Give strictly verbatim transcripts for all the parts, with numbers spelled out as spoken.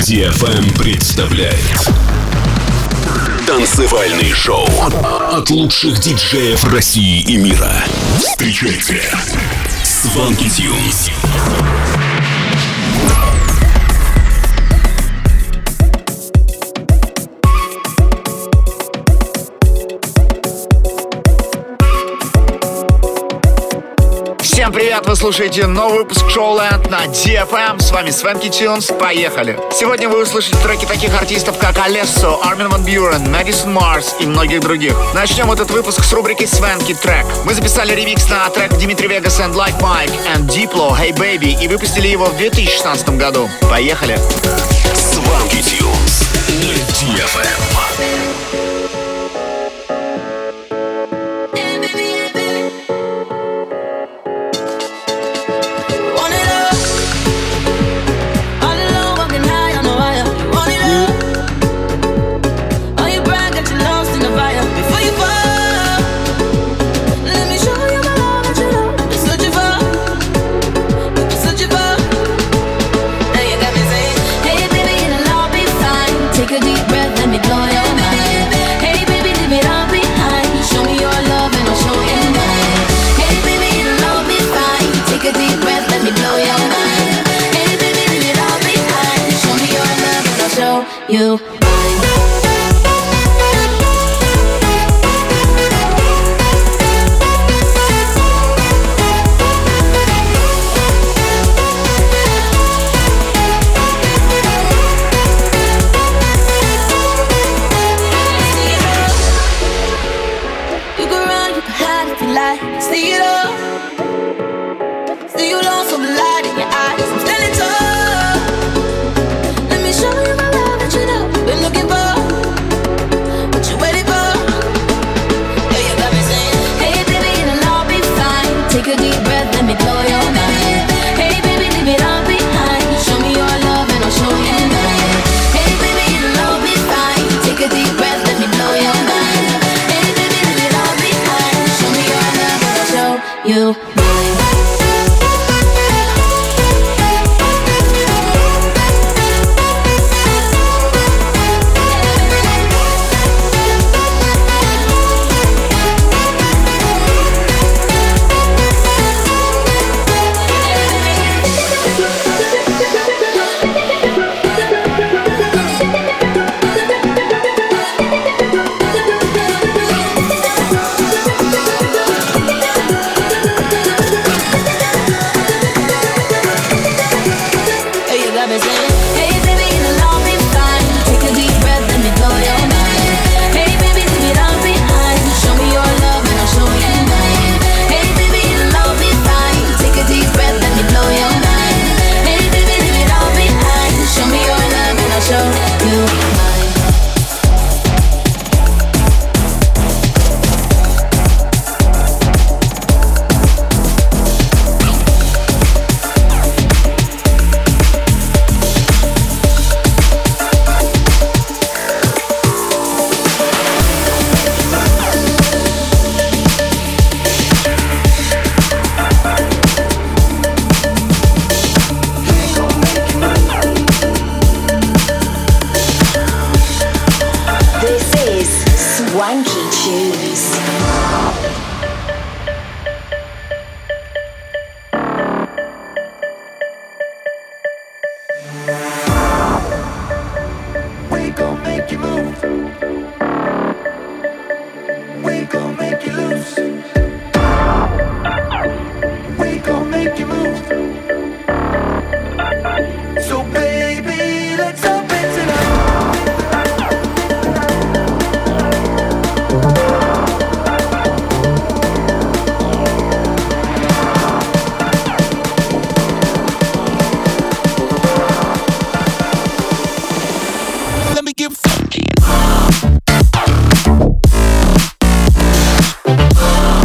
ди эф эм представляет танцевальный шоу от лучших диджеев России и мира. Встречайте Swanky Tunes. Всем привет! Вы слушаете новый выпуск Showland на ди эф эм. С вами Swanky Tunes. Поехали! Сегодня вы услышите треки таких артистов, как Alesso, Armin van Buuren, Madison Mars и многих других. Начнем этот выпуск с рубрики Swanky Track. Мы записали ремикс на трек Dimitri Vegas and Like Mike and Diplo Hey Baby и выпустили его в две тысячи шестнадцатом году. Поехали! Swanky Tunes на ди эф эм. You You get funky.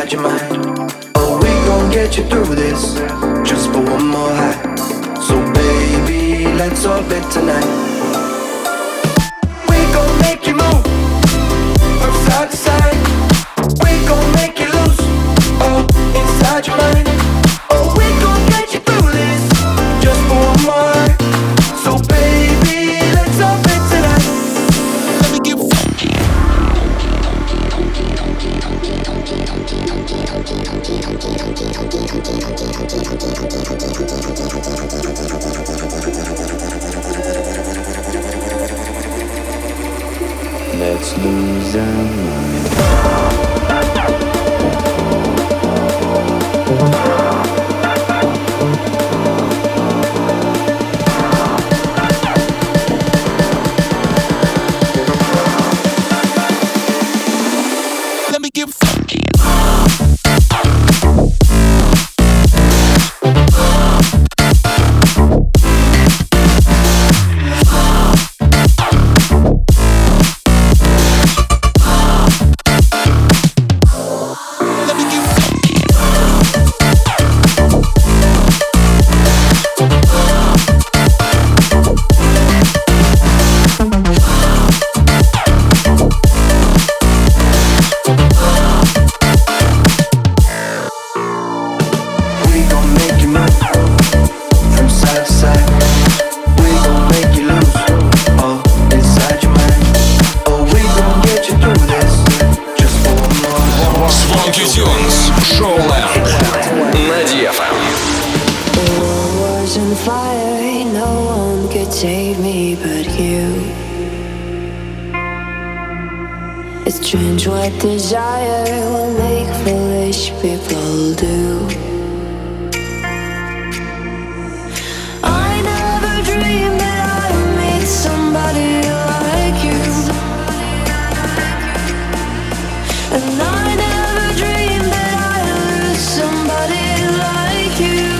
inside your mind. Oh, we gon' get you through this, just for one more high. So baby, let's orbit tonight. We gon' make you move from side to side. We gon' make you loose, oh, inside your mind. Oh, we gon' get you through this, just for one more high. So baby, let's orbit tonight. Let me get funky. Let's lose our mind. Let me get funky. Desire will make foolish people do. I never dreamed that I'd meet somebody like you, and I never dreamed that I'd lose somebody like you.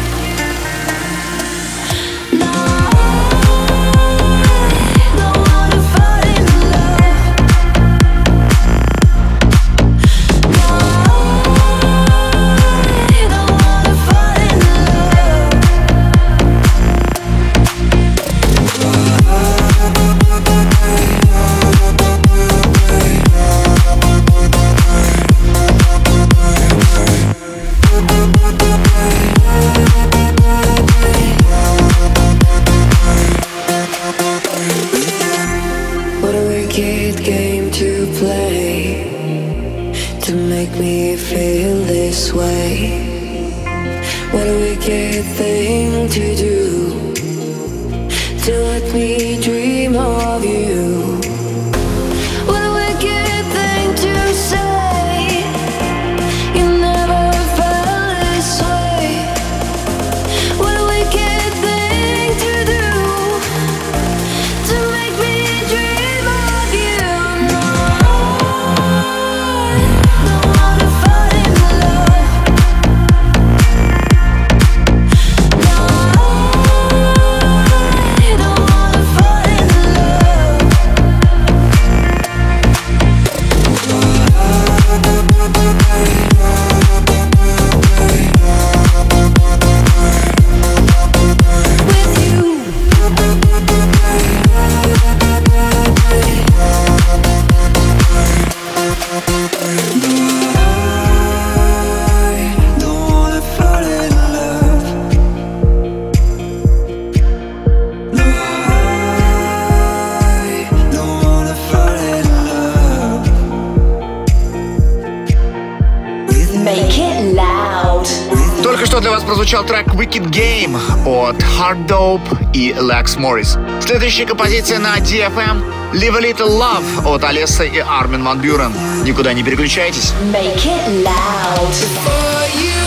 Прозвучал трек Wicked Game от Hard Dope и Lex Morris. Следующая композиция на ди эф эм Live a Little Love от Алесса и Armin van Buuren. Никуда не переключайтесь. Make it loud. Before you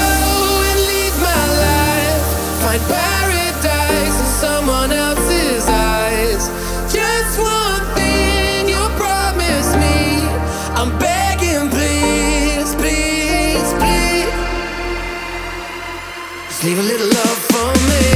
go and leave my life, find paradise in someone else's eyes. Just one thing you promise me, I'm begging, please, please, please. Just leave a little love for me.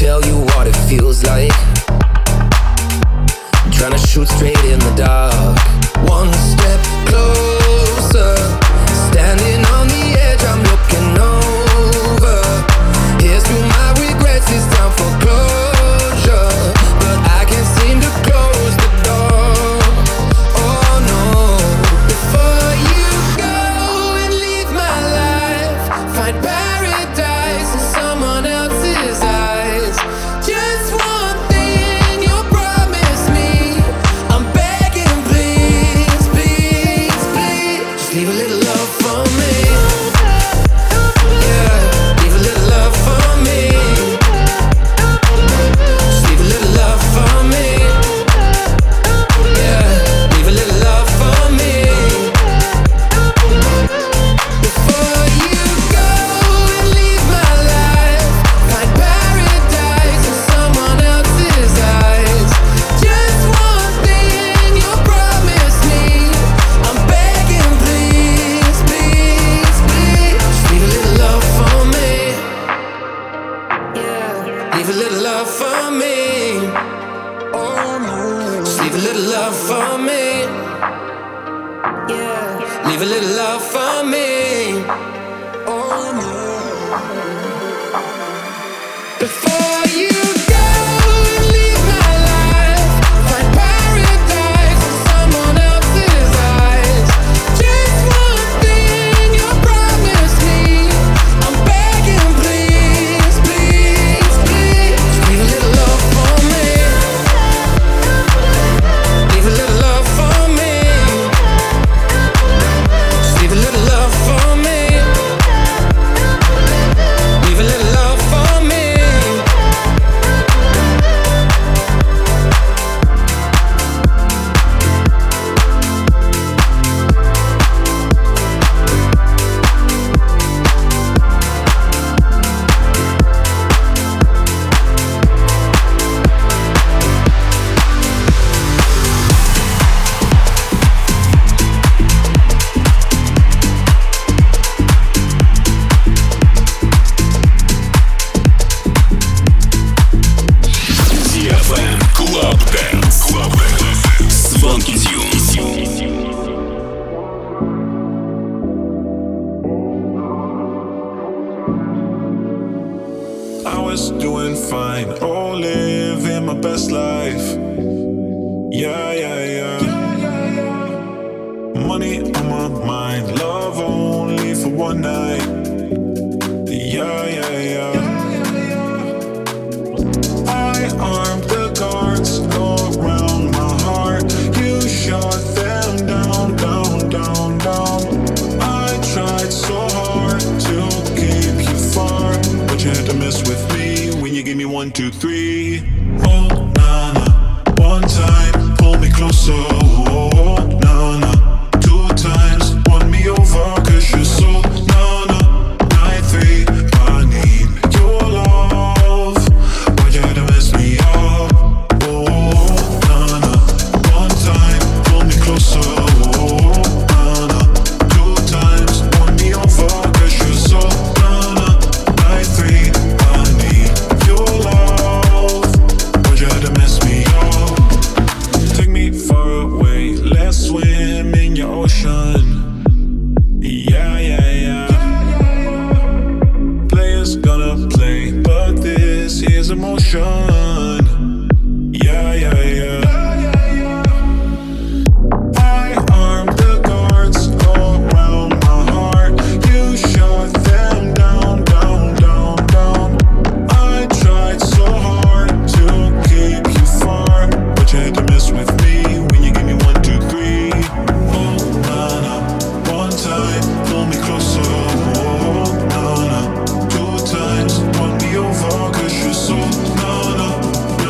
tell you what it feels like. Trying to shoot straight in the dark. One step closer, standing on the edge, I'm looking over. Here's to my regrets, it's time for closure, but I can't seem to close the door. Oh no. Before you go and leave my life, find paradise in someone else's eyes. Just one thing you promise me, I'm begging, please, please, please, just leave a little love for me. Yeah, leave a little love for me. Just leave a little love for me. Yeah, leave a little love for me. Before you go and leave my life, find paradise in someone else's eyes. Just one thing you promise me, I'm begging, please, please, please, just leave a little love for me. Yeah, leave a little love for me. Oh no, just leave a little love for me. Yeah, leave a little love for me. Oh no. Before you go and leave my life, find paradise in someone else's eyes. Just one thing you promise me, I'm begging, please, please, please, just leave a little love for me. Leave a little love for me. Just leave a little love for me. Leave a little love for me. ди эф эм Club Dance. Club Dance. Swanky Tunes. I was doing fine, oh, living my best life. Yeah, yeah, yeah. Money on my mind, love only for one night. Yeah, yeah, yeah. I armed the guards around my heart. You shot them down, down, down, down. I tried so hard to keep you far, but you had to mess with me when you gave me one, two, three. Oh, nah, nah. One time, pull me closer. Oh, nah, nah. Two times, won me over, cause you're so nah, nah. Nine, three, I need your love. Why'd you have to mess me up? Oh, nah, nah. One time, pull me closer. Oh, nah, nah. Two times, won me over, cause you're so nah, nah. Nine, three, I need your love. Why'd you have to mess me up? Take me far away, let's swim in your ocean. Yeah, yeah, yeah. Players gonna play, but this is emotion. Yeah, yeah, yeah. I armed the guards around my heart. You shot them down, down, down, down. I tried so hard to keep you far, but you had to mess with me when you gave me one, two, three. Oh, nah, nah. One time, pull me closer. Oh, nah, nah. Two times, won me over, cause you're so nah, nah.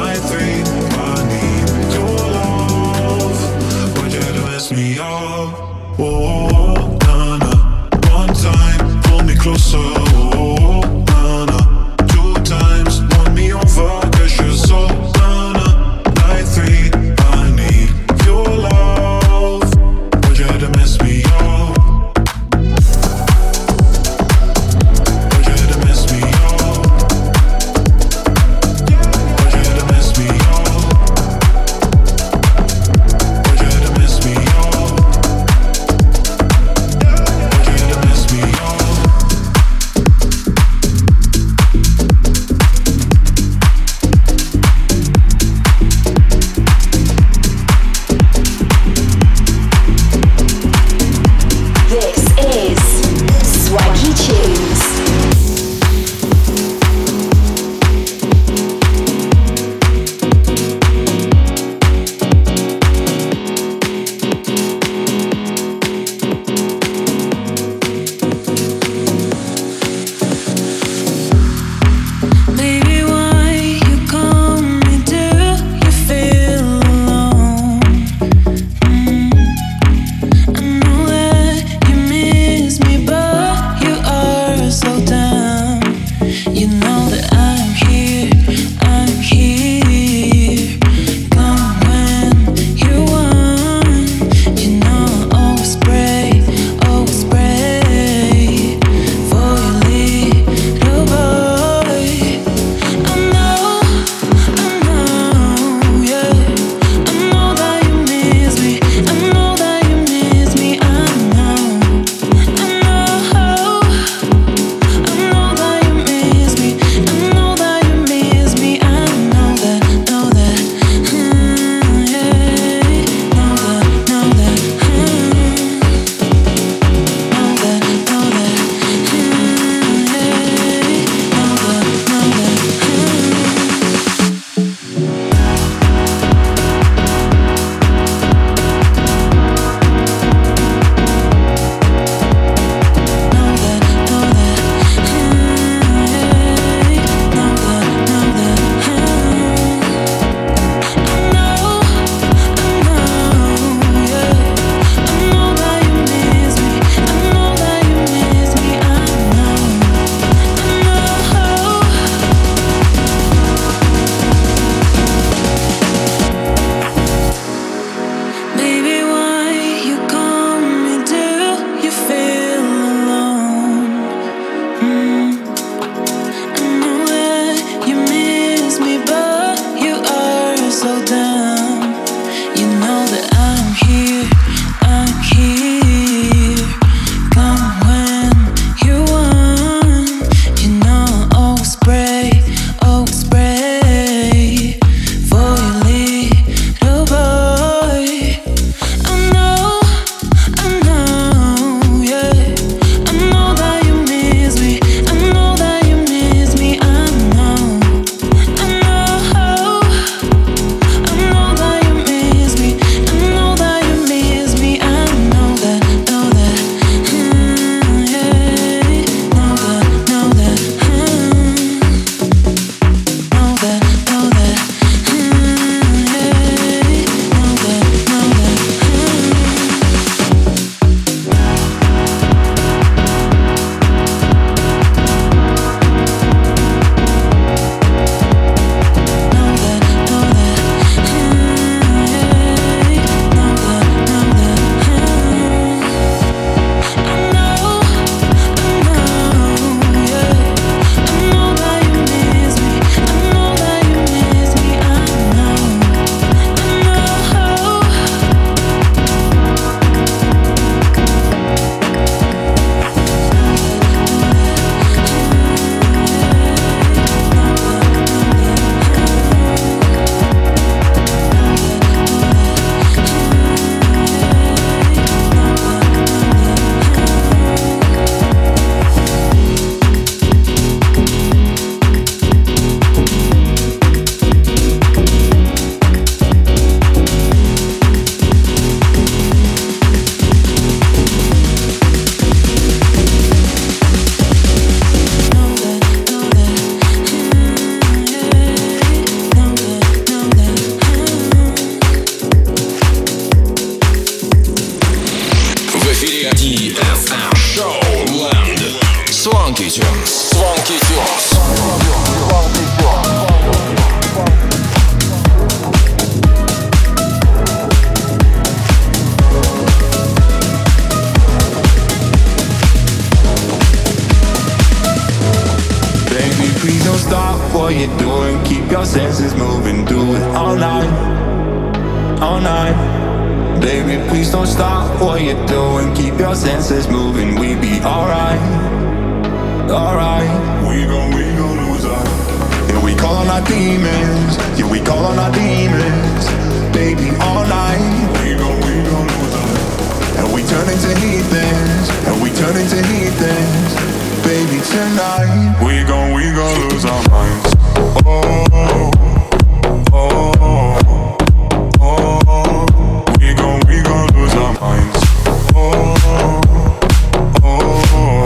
what you're doing. Keep your senses moving, do it all night, all night. Baby, please don't stop what you're doing. Keep your senses moving, we be alright, alright. We gon' we gon' lose our. Yeah, we call on our demons. Yeah, we call on our demons. Baby, all night. We gon' we gon' lose our. And we turn into heathens. And we turn into heathens. Baby, tonight. We gon' we gon' lose our minds. Oh, oh, oh, oh. We gon' we gon' lose our minds. Oh, oh,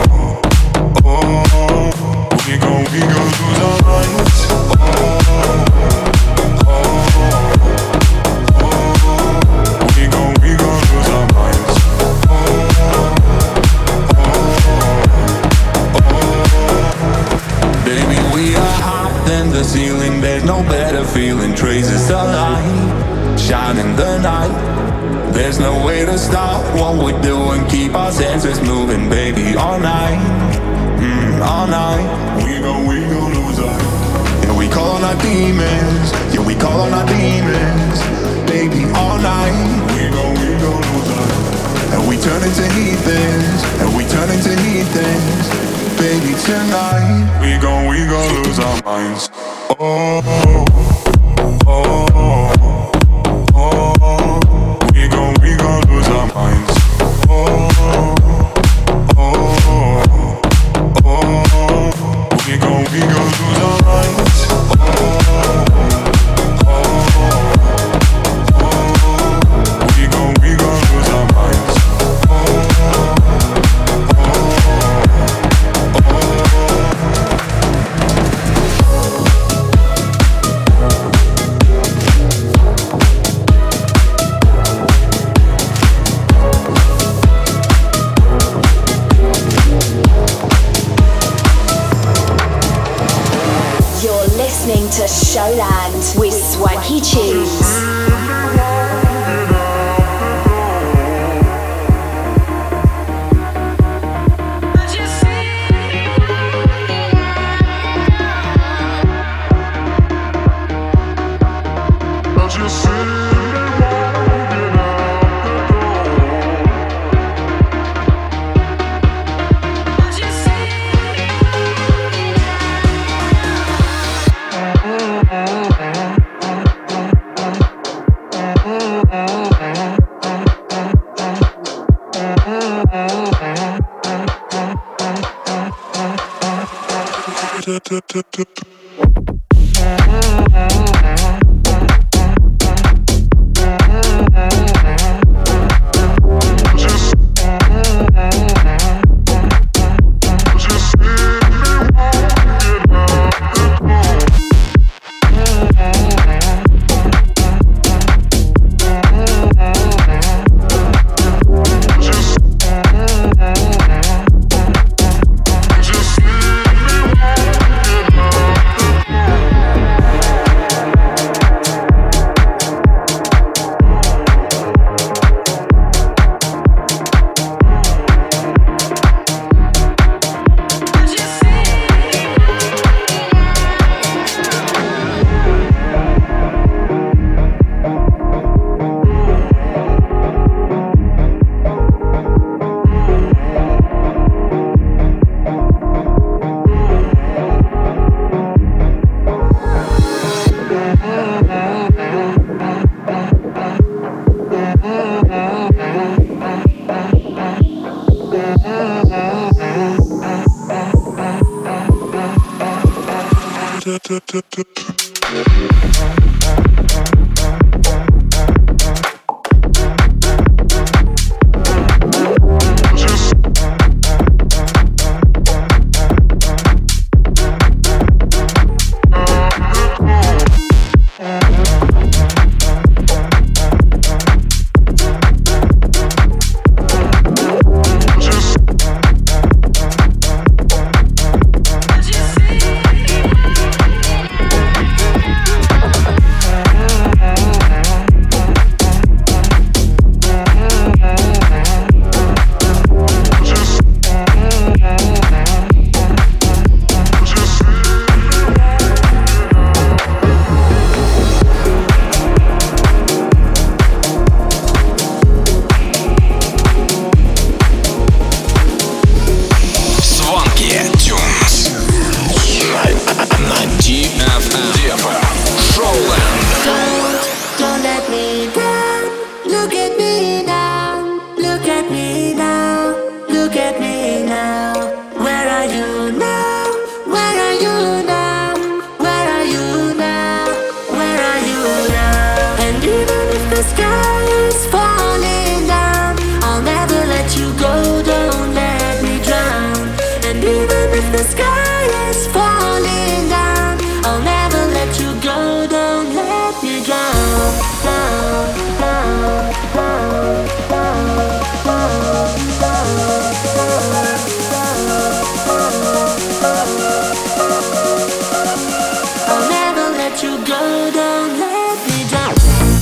oh. We gon' we gon' lose our minds. Oh, oh, oh. We gon' we gon' lose our minds. Oh, oh. Baby, we are higher than the ceiling. There's no better feeling. Traces of light shine in the night. There's no way to stop what we're doing. Keep our senses moving, baby, all night, mm, all night. We gon' we gon' lose our. Yeah, we call on our demons. Yeah, we call on our demons. Baby, all night. We gon' we gon' lose our. And we turn into heathens. And we turn into heathens. Baby, tonight. We gon' we gon' lose our minds. Oh, oh, oh, oh. We gon' we gon' lose our minds. Oh, oh, oh. We gon' we gon' lose our minds. Oh, oh, oh. We gon' we gon' lose our minds. Oh, listening to Showland with Swanky Tunes. let you go, don't let me down.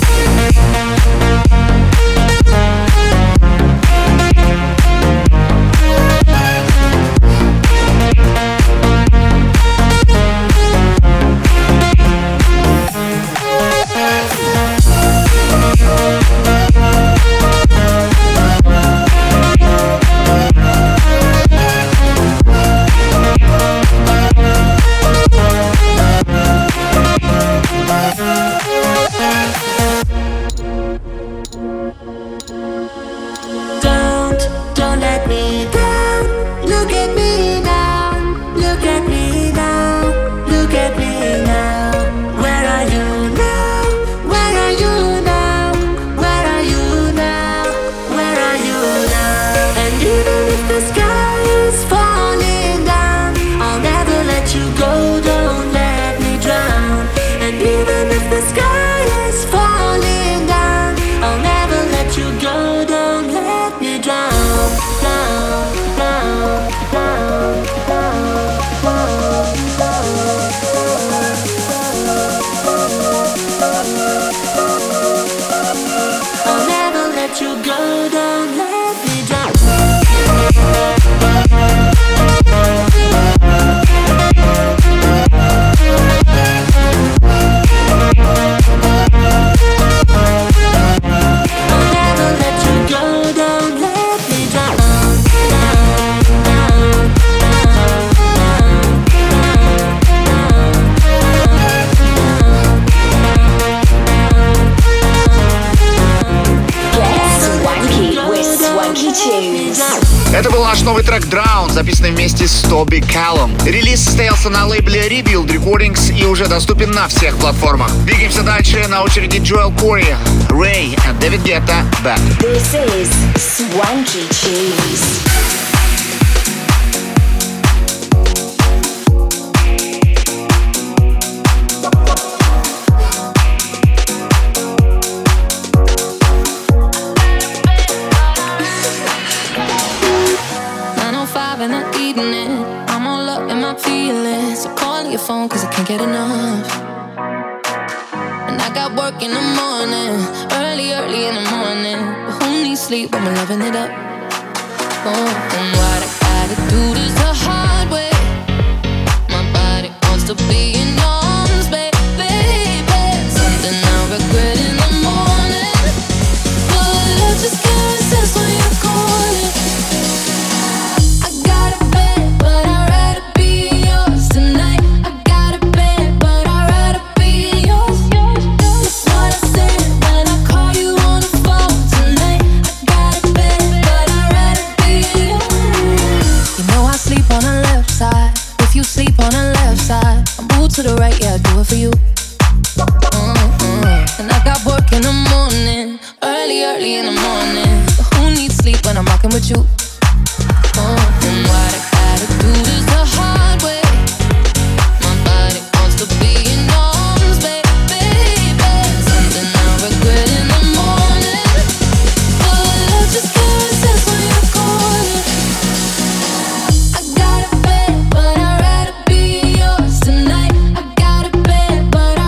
Это был наш новый трек Drown, записанный вместе с Тоби Каллом. Релиз состоялся на лейбле Rebuild Recordings и уже доступен на всех платформах. Двигаемся дальше, на очереди Джоэл Кори, Ray и Дэвид Гетта, Back. This is Swanky Tunes. In the evening, I'm all up in my feelings. So call your phone cause I can't get enough. And I got work in the morning, early, early in the morning. But who needs sleep when we're loving it up? Oh, and what I gotta do this the hard way. My body wants to be in your arms, baby, baby. Something I regret in the morning. But I just can't resist when you're calling. To the right, yeah, I do it for you. Mm-hmm. And I got work in the morning, early, early in the morning. But who needs sleep when I'm rocking with you? Mm-hmm. And what I gotta do is the hard way. My body wants to be in your arms, baby, baby. Something I regret in the morning. But I just can't resist when you're calling. I got a bed, but I'd rather be yours tonight. But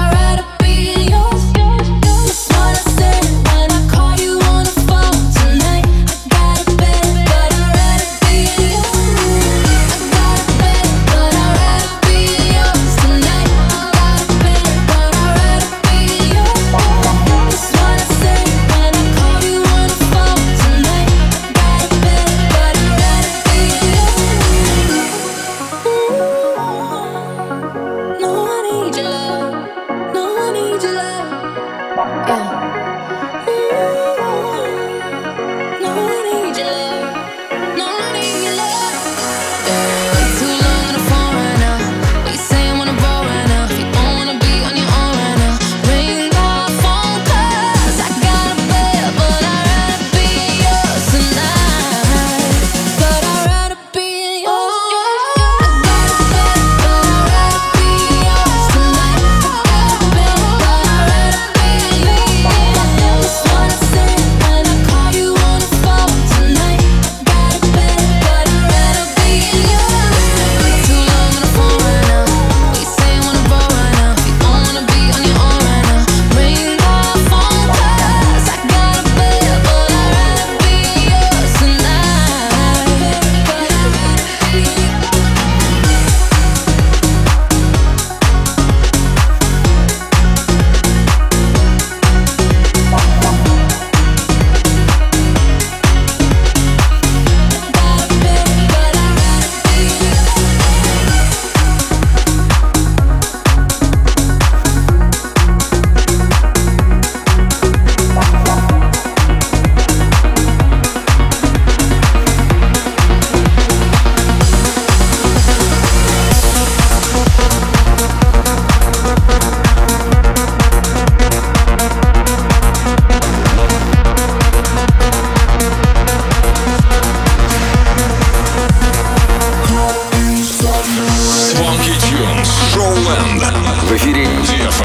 ди эф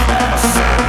эм.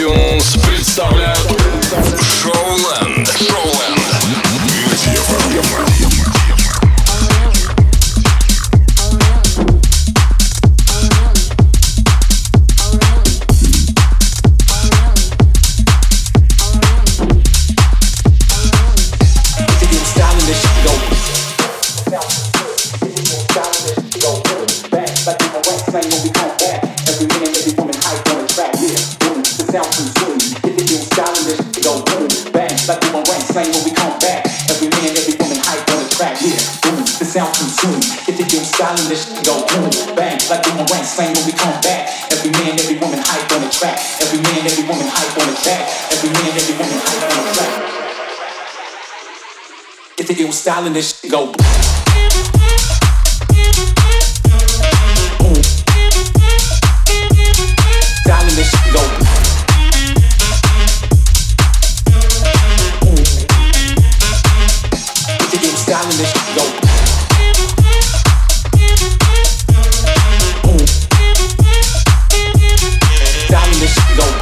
представляют Шоуленд. Шоуленд. sound consumed. Get the deal styling, this shit go boom, bang, like boomerang slang when we come back. Every man, every woman hype on the track. Every man, every woman hype on the track. Every man, every woman hype on the track. Get the ill styling, this shit go boom. Styling, this shit go boom. Styling this shit go. Boom. Styling this shit go.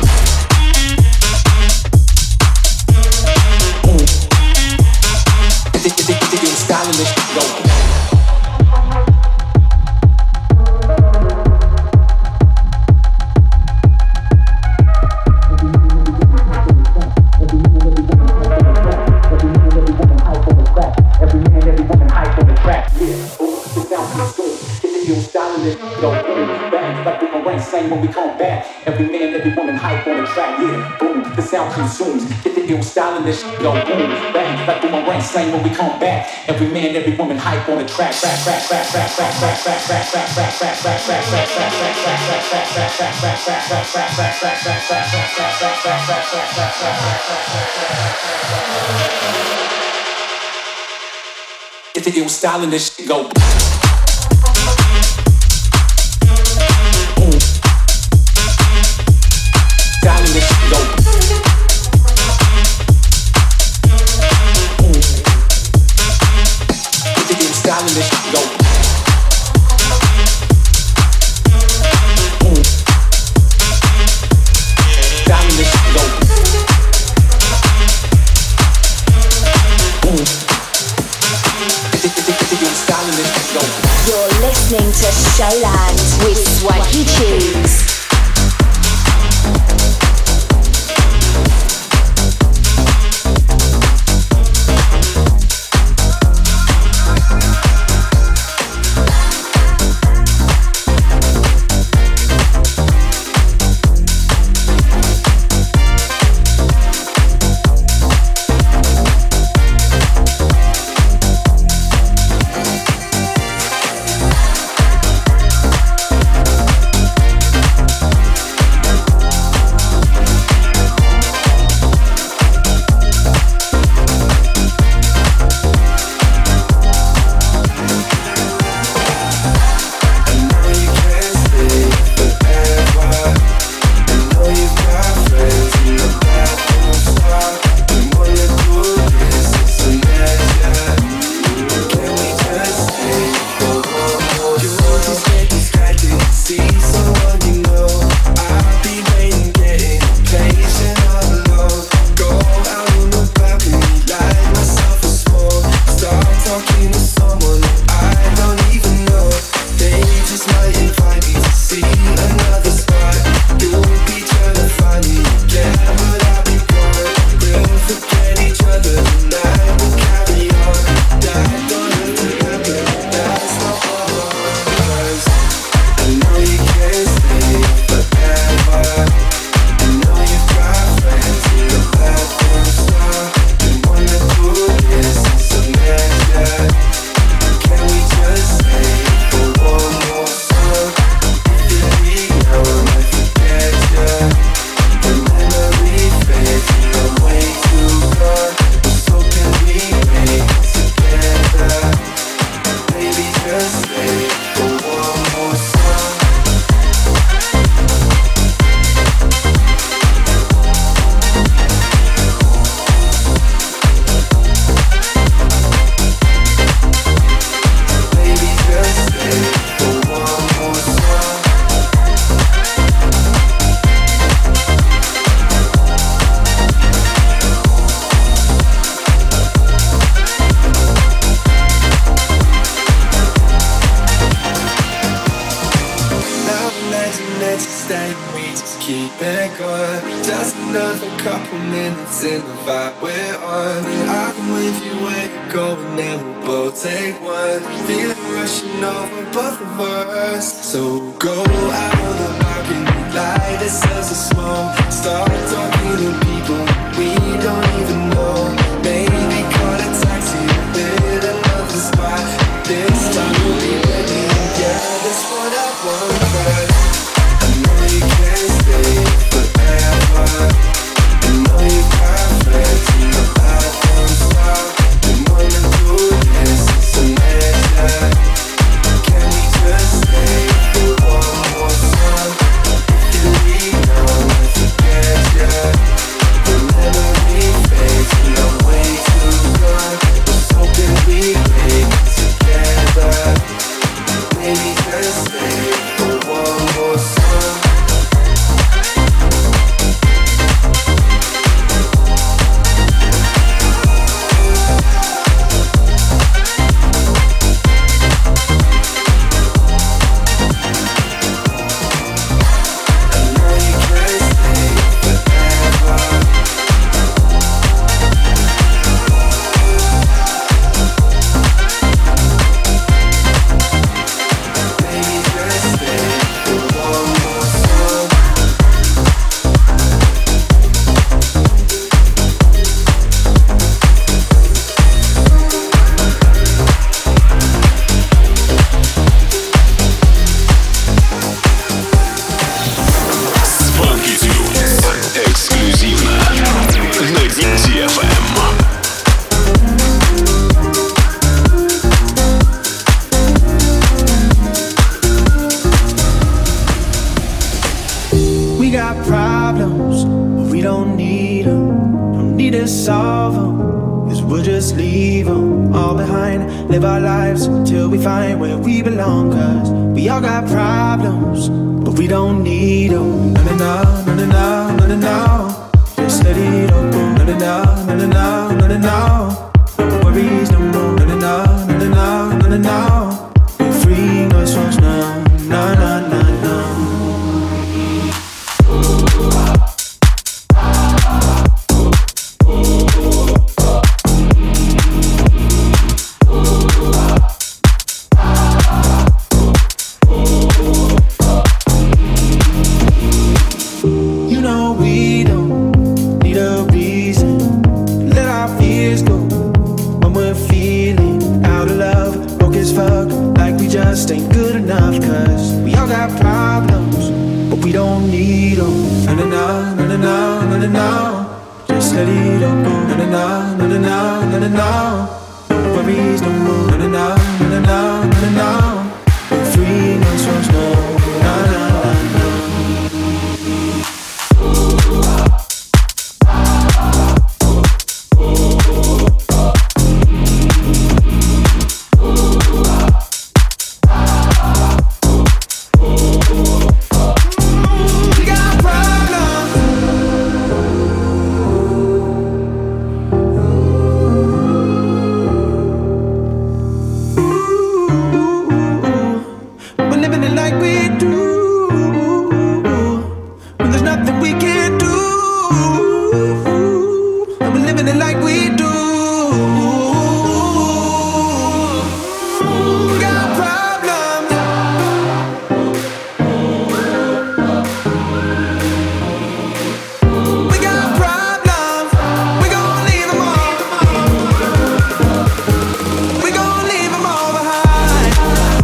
Boom. Get it, get it, get it, styling this shit go. When we come back, every man, every woman hype on the track, yeah, boom, the sound consumes, get the ill styling, this shit go boom, bang, like boomerang slang when we come back, every man, every woman hype on the track, track, track, track, track, track, track, track, track, track, track, track, track, track, track, track, get the ill styling, this shit go. Styling this shit go. Boom. Get the ill styling this shit go. Boom. Styling this shit go. Boom. Get the, get the, get the ill styling this shit go. You're listening to Showland with Swanky Tunes. in the vibe we're on. I can wave you where you're going and we'll both take one. Feeling rushing over both of us. So go out on the balcony, light ourselves a smoke. Start talking to people we don't even know. Maybe call a taxi, hit another spot. this time you'll be ready. Yeah, that's what I want, but I know you can't stay forever. I know you're perfect and your life won't stop. You wanna do this, it's a measure. Can we just stay for one more song? If you leave now, I forget ya. The memory fades and I'm way too gone. Was hoping we make it together. Maybe just stay for one more song. Funky Tunes. Эксклюзивно на ди эф эм. We got problems, but we don't need them. Don't need to solve them, cause we'll just leave them all behind. Live our lives till we find where we belong. Cause we all got problems, but we don't need them. No, no, no, no, no, no, no, no. Just let it all go. No, no, no, no, no, no, no, no, no. No worries no more. No, no, no, no, no, no, no, no, no. We're free, no songs now. No, no, no, no. You know we don't need a reason. Let our fears go when we're feeling out of love. Broke as fuck, like we just ain't good enough. Cause we all got problems, but we don't need them. No, no, no, no, no, no, no, no. Just let it all go. No, no, no, no, no, no, no, no, no. No worries no more. No, no, no, no, no, no, no, no. We're free, no songs, no. No, no, no, no. We got problems. We're living it like we do. When there's nothing we can't do. And we're living it like we do. We got problems. We got problems. We gon' leave 'em all. We gon' leave 'em all behind.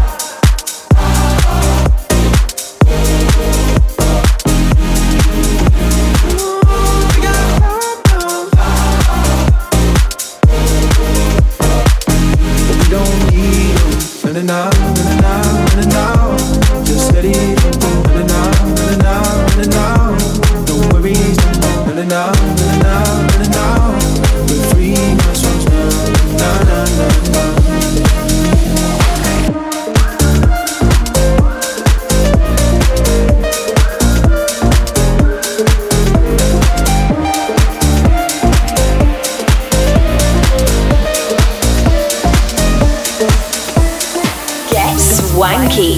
We got problems. But we don't need 'em. No, no, no, no, no, no, no. Just let it go. No, no, no, no, no, no, no. No worries no more. No, no, no, no, no, no, no. We're free, no songs now. No, no, no, no. Get swanky.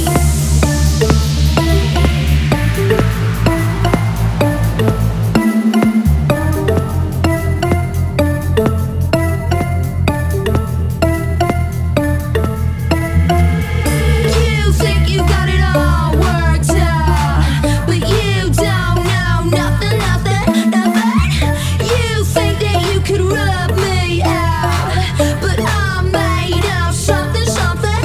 You think you got it all worked out, but you don't know nothing, nothing, nothing. You think that you could rub me out, but I'm made of something, something.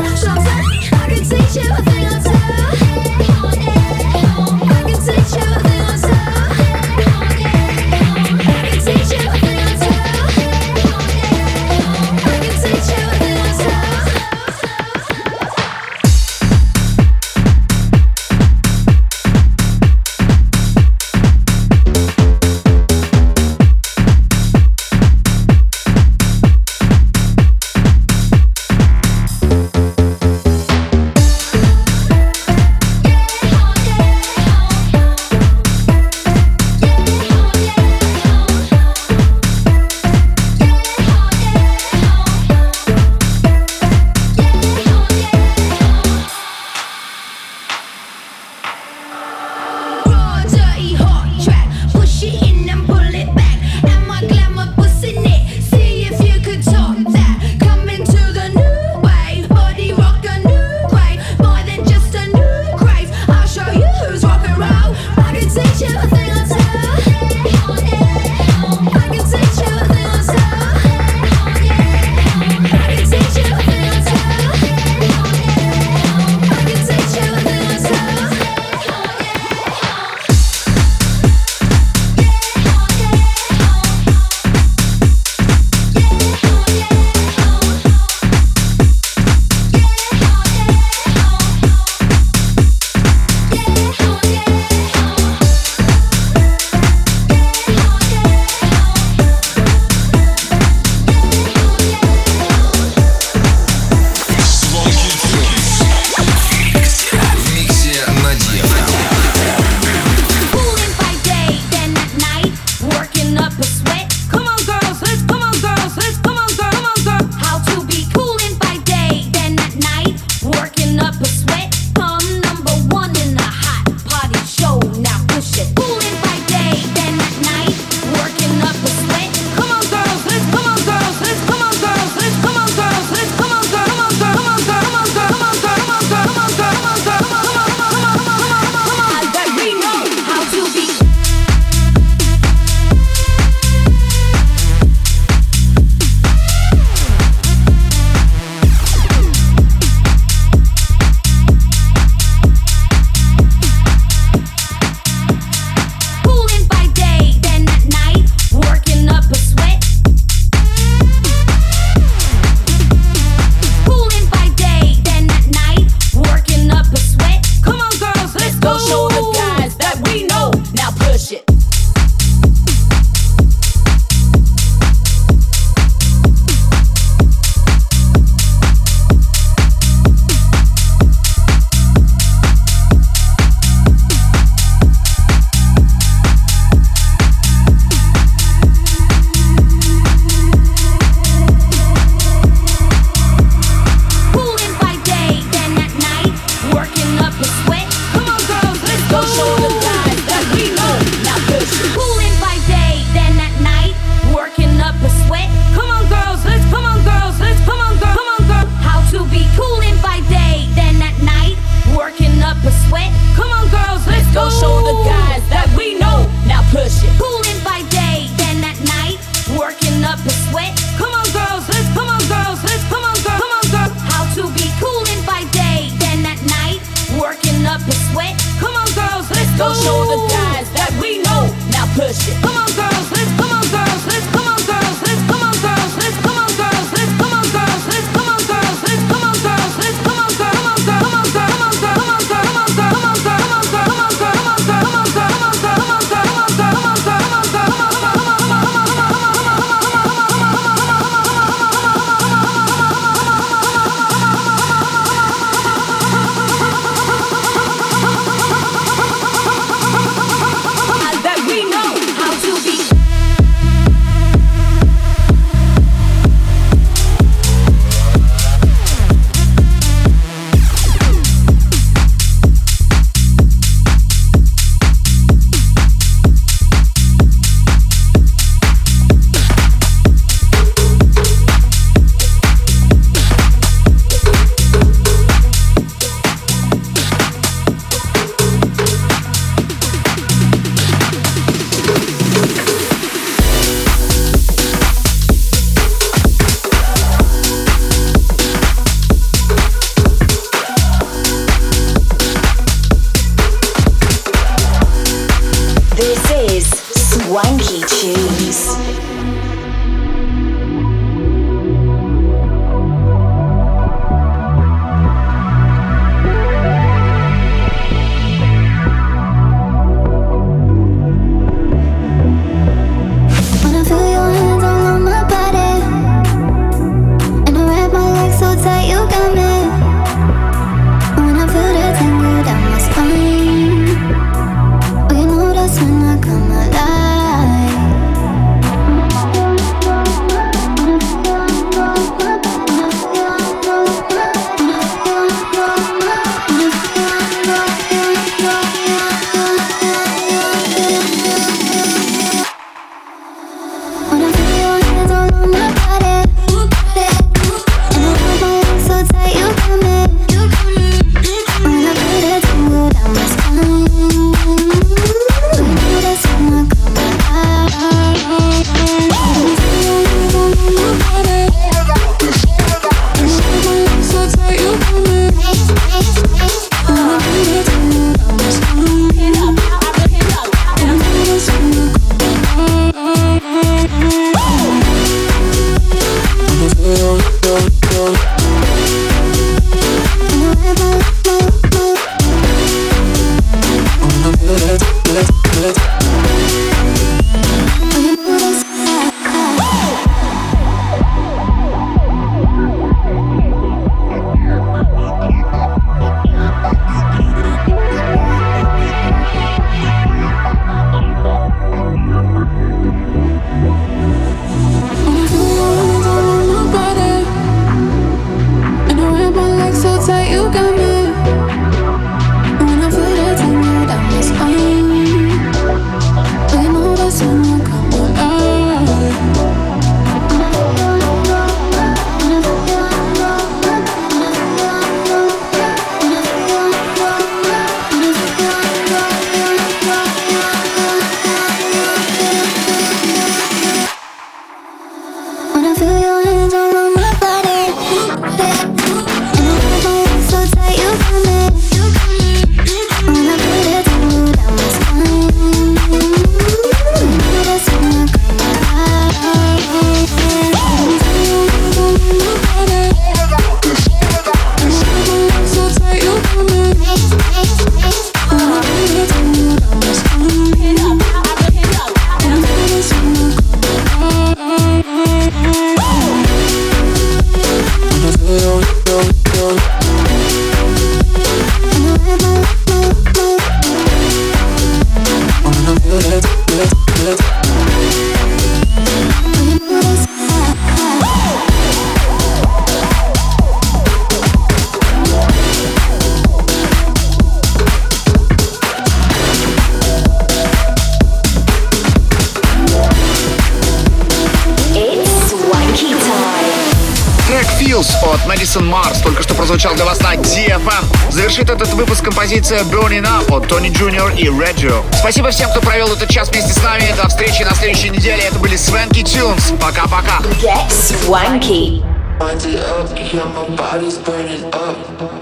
Madison Mars только что прозвучал для вас на ди эф эм. Завершит этот выпуск композиция Burning Up от Тони Джуниор и Reggio. Спасибо всем, кто провел этот час вместе с нами. До встречи на следующей неделе. Это были Swanky Tunes. Пока-пока. Get swanky. Wind it up, yeah, my body's burning up.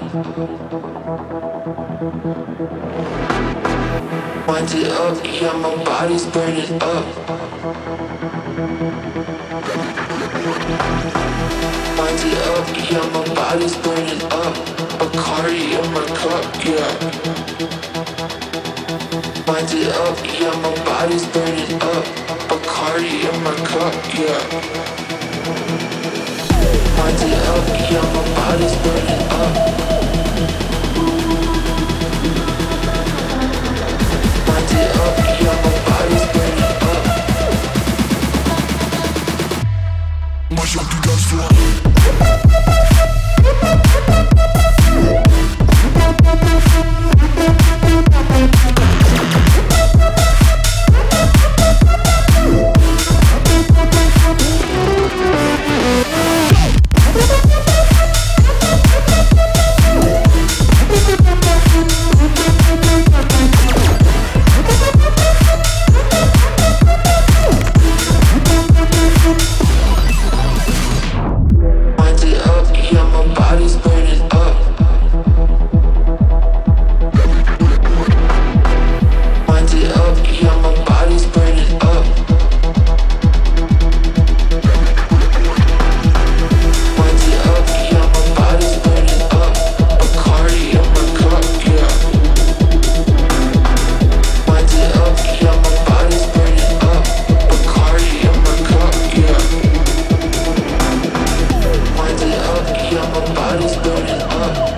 Wind it up, yeah, my body's burning up. Wind it up, yeah, my body's burning up. Bacardi in my cup, yeah. Wind it up, yeah, my body's burning up. Bacardi in my cup, yeah. Wind it up, yeah, my body's burning up. Wind it up, yeah, my body's burning up. Marche auf die Dancefloor. Body's burning up.